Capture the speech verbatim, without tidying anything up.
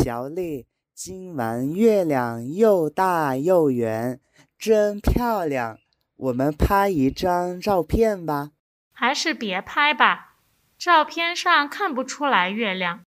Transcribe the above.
小丽，今晚月亮又大又圆，真漂亮。我们拍一张照片吧。 还是别拍吧，照片上看不出来月亮。